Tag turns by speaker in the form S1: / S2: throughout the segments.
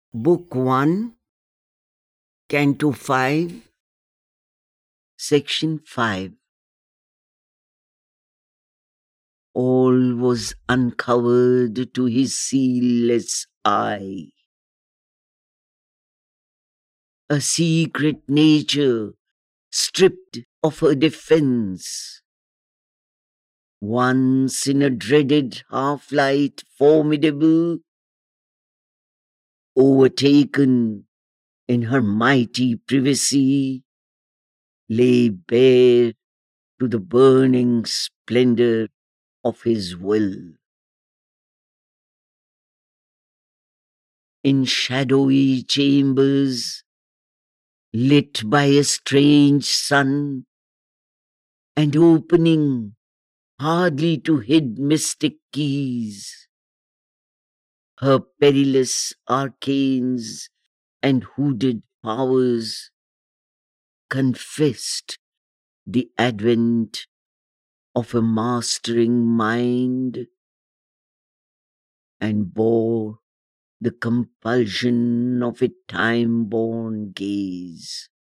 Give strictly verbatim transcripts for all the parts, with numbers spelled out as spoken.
S1: Book one, Canto five, Section five. All was uncovered to his sealess eye. A secret nature stripped of her defense. Once in a dreaded half-light formidable, overtaken in her mighty privacy, lay bare to the burning splendor of his will. In shadowy chambers, lit by a strange sun, and opening hardly to hid mystic keys, her perilous arcanes and hooded powers confessed the advent of a mastering mind and bore the compulsion of a time-born gaze.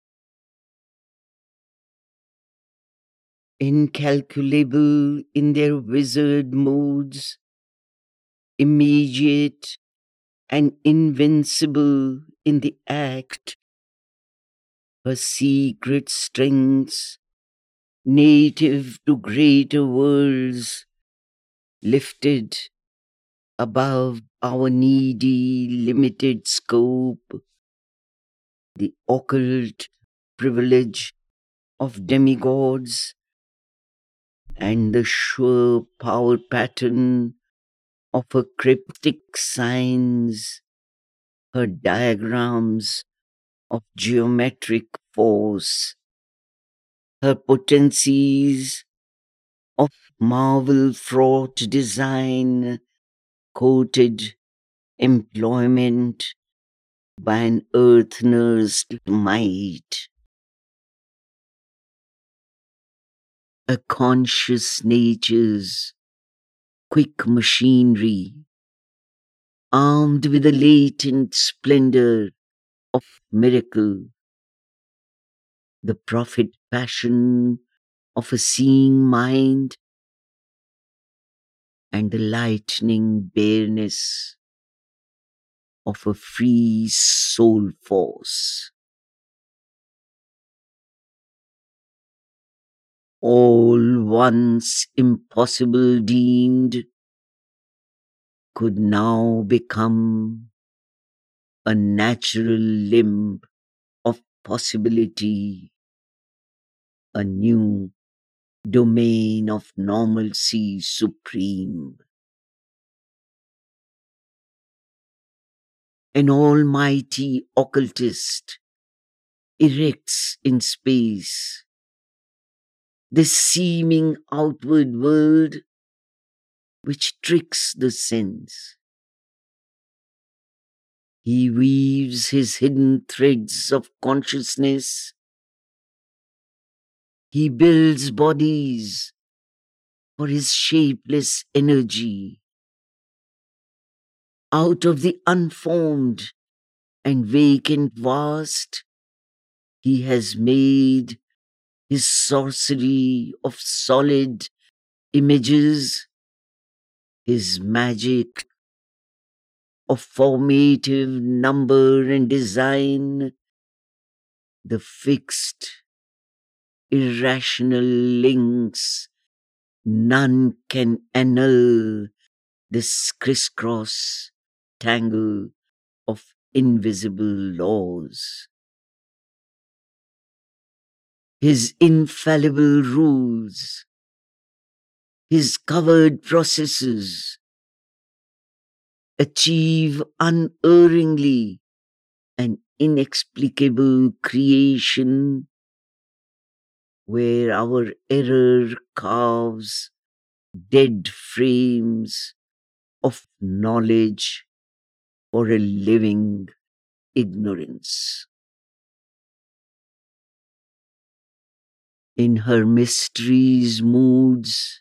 S1: Incalculable in their wizard moods, immediate and invincible in the act, her secret strengths, native to greater worlds, lifted above our needy, limited scope, the occult privilege of demigods, and the sure power pattern of her cryptic signs, her diagrams of geometric force, her potencies of marvel-fraught design, coated employment by an earth-nursed might. A conscious nature's quick machinery, armed with a latent splendor of miracle, the prophet passion of a seeing mind, and the lightning bareness of a free soul force. All once impossible deemed could now become a natural limb of possibility, a new domain of normalcy supreme. An almighty occultist erects in space this seeming outward world which tricks the sense. He weaves his hidden threads of consciousness. He builds bodies for his shapeless energy. Out of the unformed and vacant vast, he has made his sorcery of solid images, his magic of formative number and design, the fixed, irrational links none can annul, this crisscross tangle of invisible laws. His infallible rules, his covered processes, achieve unerringly an inexplicable creation where our error carves dead frames of knowledge for a living ignorance. In her mysteries moods,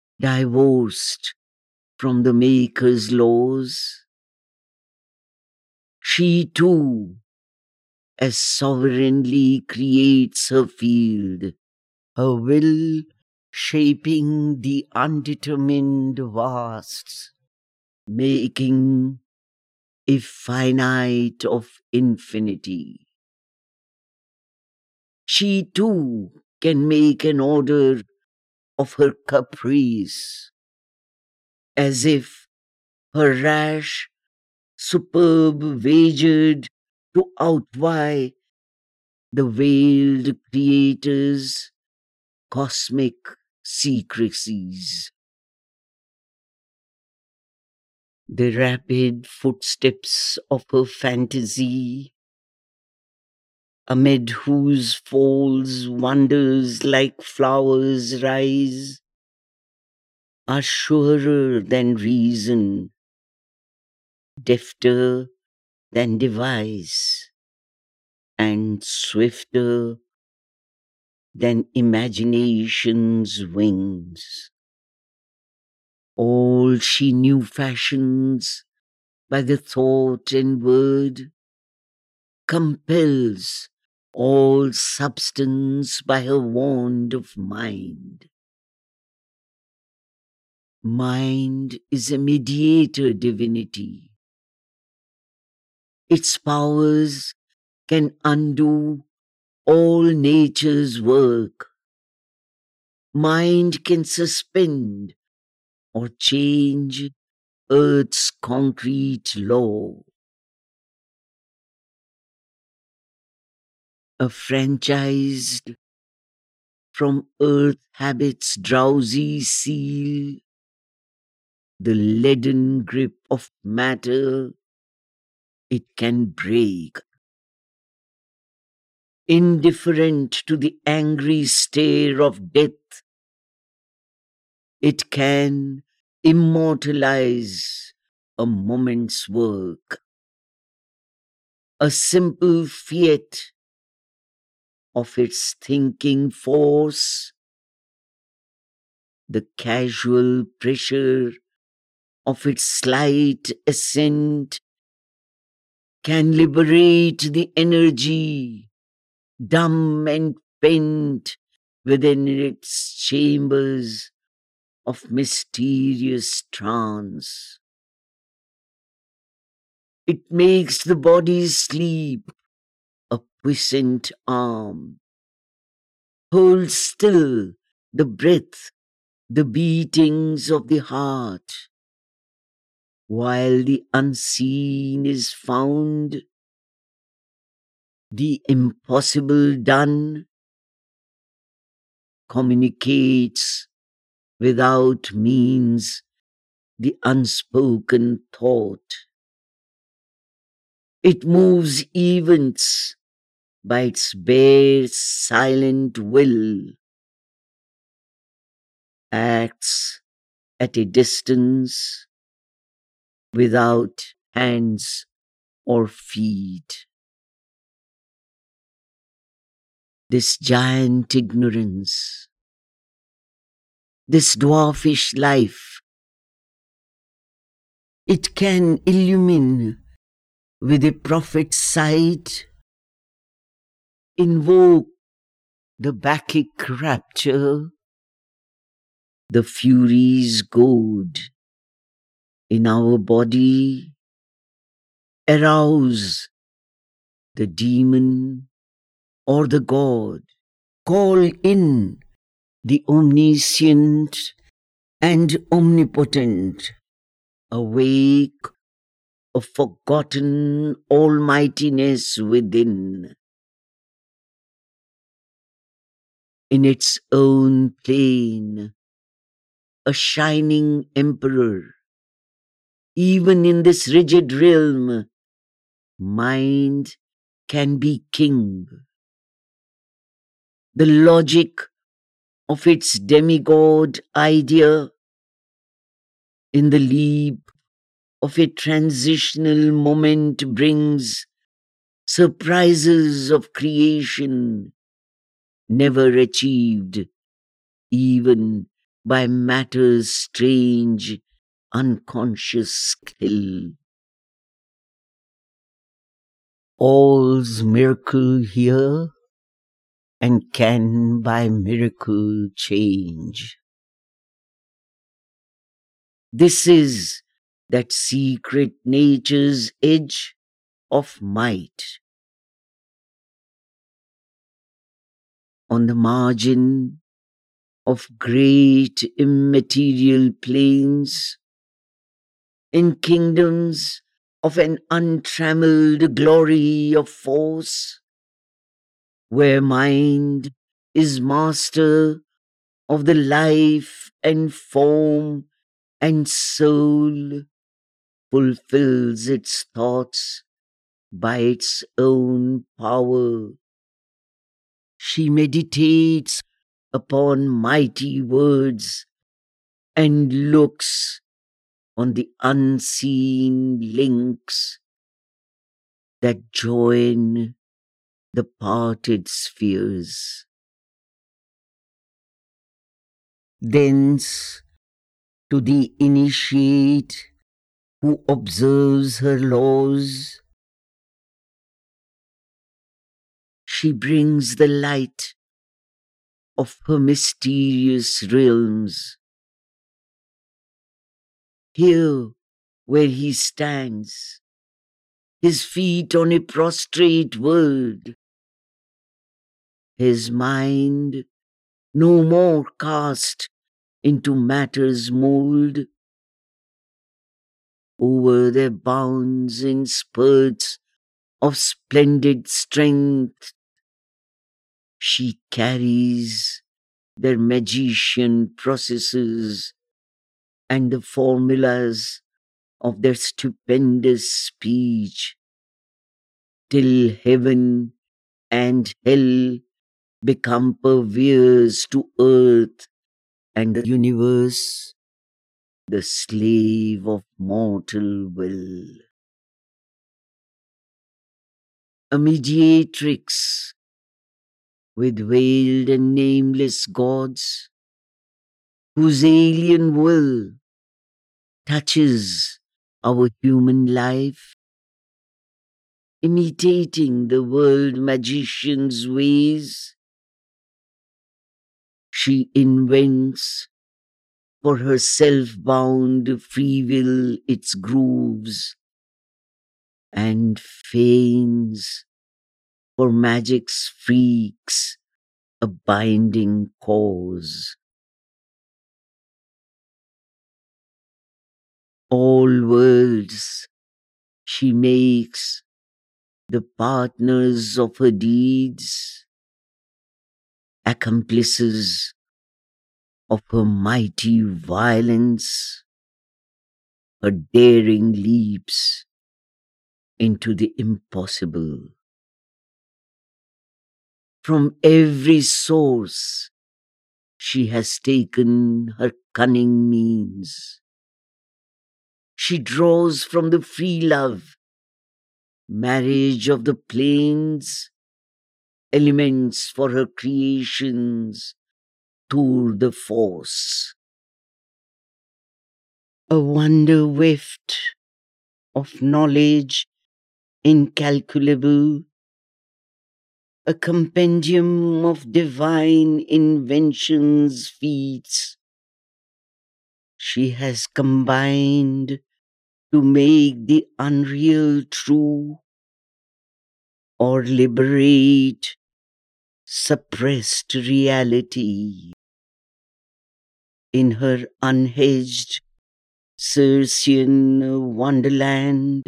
S1: divorced from the Maker's laws, She too, as sovereignly creates her field, her will shaping the undetermined vasts, making a finite of infinity. She too can make an order of her caprice, as if her rash, superb wagered to outvie the veiled creator's cosmic secrecies. The rapid footsteps of her fantasy, amid whose folds wonders like flowers rise, are surer than reason, defter than device, and swifter than imagination's wings. All she knew fashions by the thought and word, compels all substance by her wand of mind. Mind is a mediator divinity. Its powers can undo all nature's work. Mind can suspend or change earth's concrete law. Affranchised from earth habit's drowsy seal, the leaden grip of matter it can break. Indifferent to the angry stare of death, it can immortalize a moment's work. A simple fiat of its thinking force, the casual pressure of its slight ascent can liberate the energy, dumb and pent within its chambers of mysterious trance. It makes the body's sleep a puissant arm, holds still the breath, the beatings of the heart, while the unseen is found, the impossible done, communicates without means the unspoken thought. It moves events by its bare silent will, acts at a distance without hands or feet. This giant ignorance, this dwarfish life, it can illumine with a prophet's sight, invoke the Bacchic rapture, the Furies' goad in our body, arouse the demon or the god, call in the omniscient and omnipotent, awake a forgotten almightiness within. In its own plane, a shining emperor, even in this rigid realm, mind can be king. The logic of its demigod idea in the leap of a transitional moment brings surprises of creation never achieved even by matter's strange unconscious skill. all's miracle here, and can by miracle change. This is that secret nature's edge of might. On the margin of great immaterial plains, in kingdoms of an untrammeled glory of force, where mind is master of the life and form and soul fulfills its thoughts by its own power. She meditates upon mighty words and looks on the unseen links that join the parted spheres. Thence, to the initiate who observes her laws, she brings the light of her mysterious realms. Here where he stands, his feet on a prostrate world, his mind no more cast into matter's mold, over their bounds in spurts of splendid strength, she carries their magician processes and the formulas of their stupendous speech, till heaven and hell become purveyors to earth, and the universe the slave of mortal will. A mediatrix with veiled and nameless gods, whose alien will touches our human life, imitating the world magician's ways. She invents for her self-bound free will its grooves, and feigns for magic's freaks a binding cause. All worlds she makes the partners of her deeds, accomplices of her mighty violence, her daring leaps into the impossible. From every source she has taken her cunning means. She draws from the free love, marriage of the plains, elements for her creations, tour de force. A wonder weft of knowledge incalculable, a compendium of divine inventions feats, she has combined to make the unreal true, or liberate suppressed reality. In her unhedged Circean wonderland,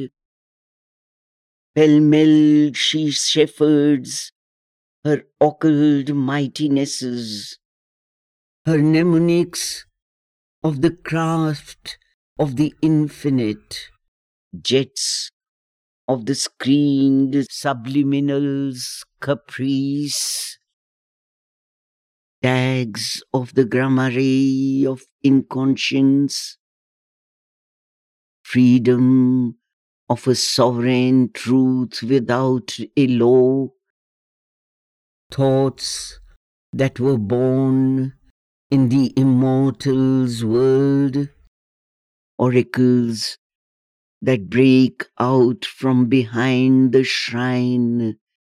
S1: pell-mell she shepherds her occult mightinesses, her mnemonics of the craft of the infinite, jets of the screened subliminal's caprice, tags of the gramarye of inconscience, freedom of a sovereign truth without a law, thoughts that were born in the immortal's world, oracles that break out from behind the shrine,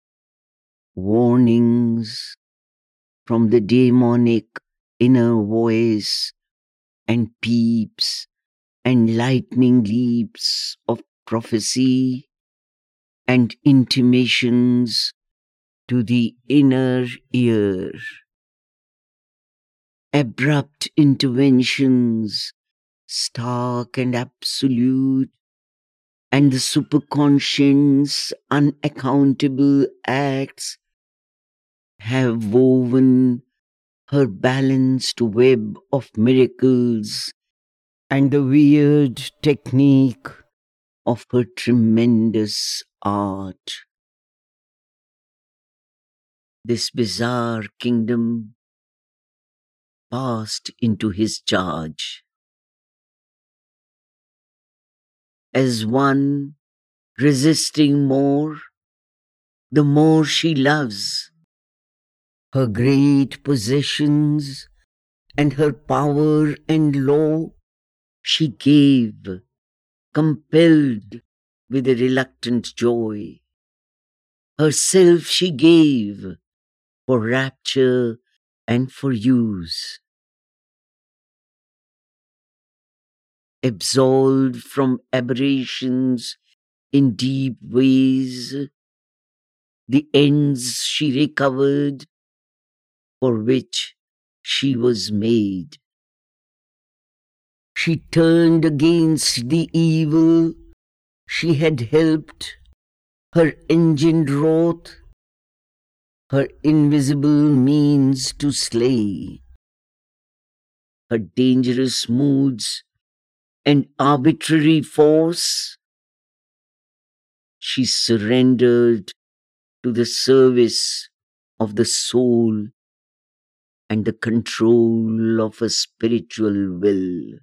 S1: warnings from the demonic inner voice, and peeps and lightning leaps of prophecy and intimations to the inner ear. Abrupt interventions, stark and absolute, and the superconscious unaccountable acts have woven her balanced web of miracles and the weird technique of her tremendous art. This bizarre kingdom passed into his charge. As one resisting more, the more she loves, her great possessions and her power and law, she gave, compelled with a reluctant joy. Herself she gave for rapture and for use. Absolved from aberrations in deep ways, the ends she recovered for which she was made. She turned against the evil she had helped, her engine wrought, her invisible means to slay, her dangerous moods and arbitrary force. She surrendered to the service of the soul and the control of a spiritual will.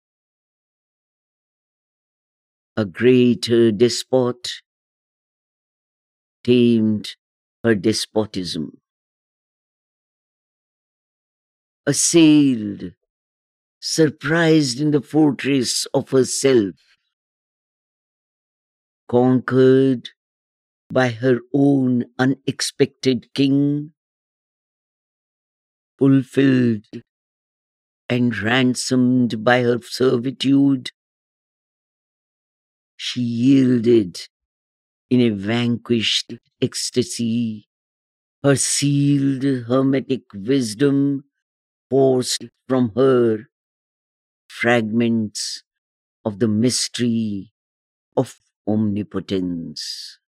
S1: A greater despot tamed her despotism. Assailed, surprised in the fortress of herself, conquered by her own unexpected king, fulfilled and ransomed by her servitude, she yielded in a vanquished ecstasy, her sealed hermetic wisdom forced from her fragments of the mystery of omnipotence.